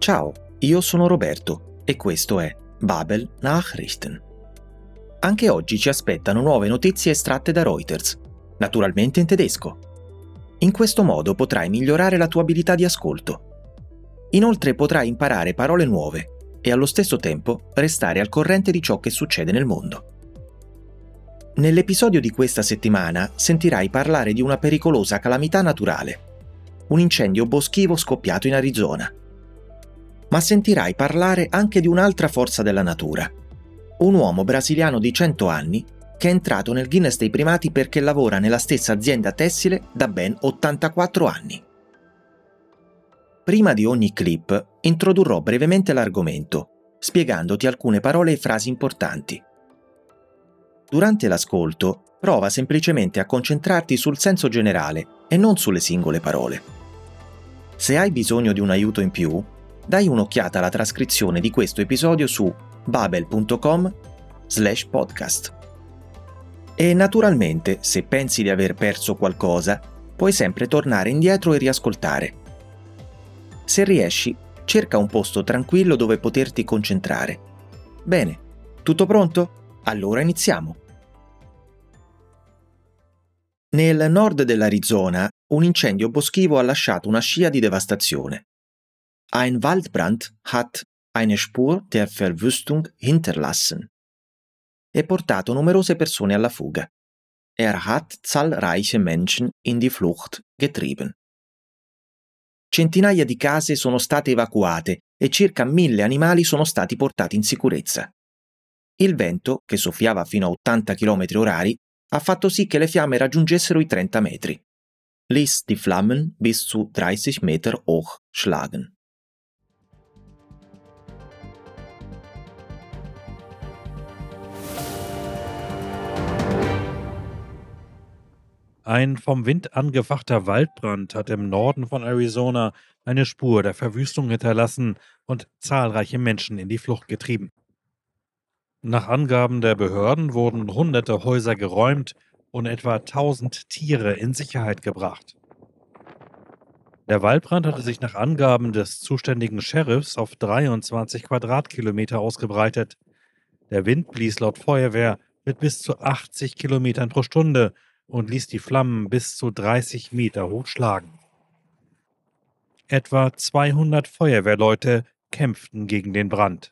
Ciao, io sono Roberto e questo è Babel Nachrichten. Anche oggi ci aspettano nuove notizie estratte da Reuters, naturalmente in tedesco. In questo modo potrai migliorare la tua abilità di ascolto. Inoltre potrai imparare parole nuove e allo stesso tempo restare al corrente di ciò che succede nel mondo. Nell'episodio di questa settimana sentirai parlare di una pericolosa calamità naturale, un incendio boschivo scoppiato in Arizona. Ma sentirai parlare anche di un'altra forza della natura, un uomo brasiliano di 100 anni che è entrato nel Guinness dei primati perché lavora nella stessa azienda tessile da ben 84 anni. Prima di ogni clip introdurrò brevemente l'argomento, spiegandoti alcune parole e frasi importanti. Durante l'ascolto, prova semplicemente a concentrarti sul senso generale e non sulle singole parole. Se hai bisogno di un aiuto in più, dai un'occhiata alla trascrizione di questo episodio su babel.com/podcast. E naturalmente, se pensi di aver perso qualcosa, puoi sempre tornare indietro e riascoltare. Se riesci, cerca un posto tranquillo dove poterti concentrare. Bene, tutto pronto? Allora iniziamo. Nel nord dell'Arizona, un incendio boschivo ha lasciato una scia di devastazione. Ein Waldbrand hat eine Spur der Verwüstung hinterlassen e portato numerose persone alla fuga. Hat zahlreiche Menschen in die Flucht getrieben. Centinaia di case sono state evacuate e circa 1000 animali sono stati portati in sicurezza. Il vento, che soffiava fino a 80 km/h, ha fatto sì che le fiamme raggiungessero i 30 metri. Ließ die Flammen bis zu 30 Meter hoch schlagen. Ein vom Wind angefachter Waldbrand hat im Norden von Arizona eine Spur der Verwüstung hinterlassen und zahlreiche Menschen in die Flucht getrieben. Nach Angaben der Behörden wurden hunderte Häuser geräumt und etwa 1000 Tiere in Sicherheit gebracht. Der Waldbrand hatte sich nach Angaben des zuständigen Sheriffs auf 23 Quadratkilometer ausgebreitet. Der Wind blies laut Feuerwehr mit bis zu 80 Kilometern pro Stunde und ließ die Flammen bis zu 30 Meter hoch schlagen. Etwa 200 Feuerwehrleute kämpften gegen den Brand.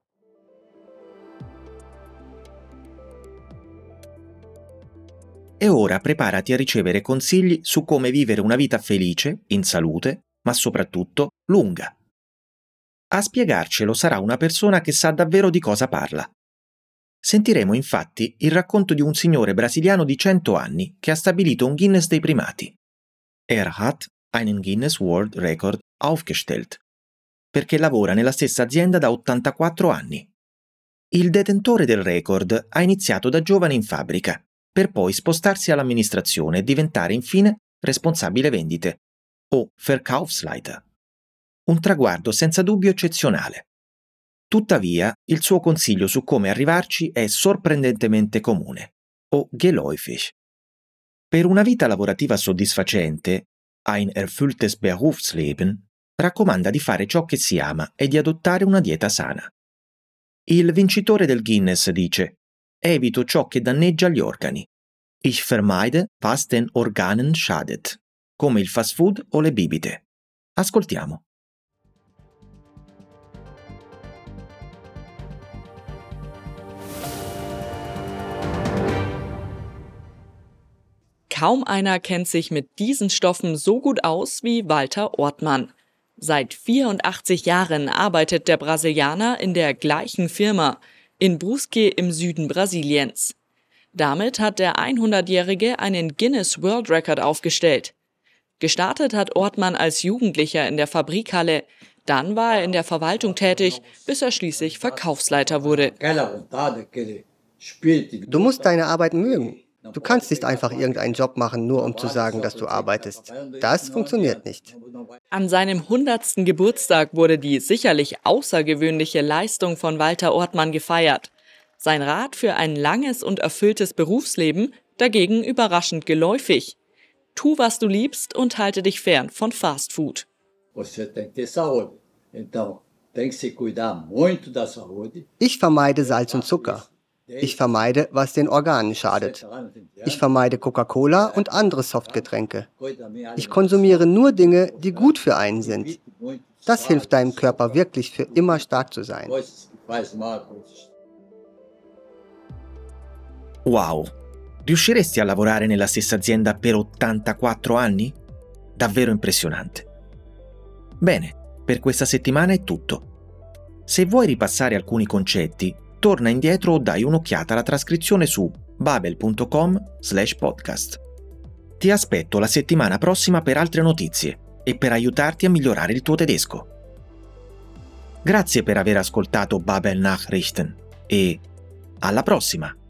E ora preparati a ricevere consigli su come vivere una vita felice, in salute, ma soprattutto lunga. A spiegarcelo sarà una persona che sa davvero di cosa parla. Sentiremo infatti il racconto di un signore brasiliano di 100 anni che ha stabilito un Guinness dei primati. Hat einen Guinness World Record aufgestellt, perché lavora nella stessa azienda da 84 anni. Il detentore del record ha iniziato da giovane in fabbrica, per poi spostarsi all'amministrazione e diventare infine responsabile vendite, o Verkaufsleiter. Un traguardo senza dubbio eccezionale. Tuttavia, il suo consiglio su come arrivarci è sorprendentemente comune, o geläufig. Per una vita lavorativa soddisfacente, ein erfülltes Berufsleben, raccomanda di fare ciò che si ama e di adottare una dieta sana. Il vincitore del Guinness dice: evito ciò che danneggia gli organi. Ich vermeide, was den Organen schadet, come il fast food o le bibite. Ascoltiamo. Kaum einer kennt sich mit diesen Stoffen so gut aus wie Walter Ortmann. Seit 84 Jahren arbeitet der Brasilianer in der gleichen Firma, in Brusque im Süden Brasiliens. Damit hat der 100-Jährige einen Guinness World Record aufgestellt. Gestartet hat Ortmann als Jugendlicher in der Fabrikhalle, dann war er in der Verwaltung tätig, bis er schließlich Verkaufsleiter wurde. Du musst deine Arbeit mögen. Du kannst nicht einfach irgendeinen Job machen, nur um zu sagen, dass du arbeitest. Das funktioniert nicht. An seinem 100. Geburtstag wurde die sicherlich außergewöhnliche Leistung von Walter Ortmann gefeiert. Sein Rat für ein langes und erfülltes Berufsleben dagegen überraschend geläufig. Tu, was du liebst und halte dich fern von Fast Food. Ich vermeide Salz und Zucker. Ich vermeide, was den Organen schadet. Ich vermeide Coca-Cola und andere Softgetränke. Ich konsumiere nur Dinge, die gut für einen sind. Das hilft deinem Körper wirklich für immer stark zu sein. Wow! Riusciresti a lavorare nella stessa azienda per 84 anni? Davvero impressionante. Bene, per questa settimana è tutto. Se vuoi ripassare alcuni concetti, torna indietro o dai un'occhiata alla trascrizione su babel.com/podcast. Ti aspetto la settimana prossima per altre notizie e per aiutarti a migliorare il tuo tedesco. Grazie per aver ascoltato Babel Nachrichten e alla prossima!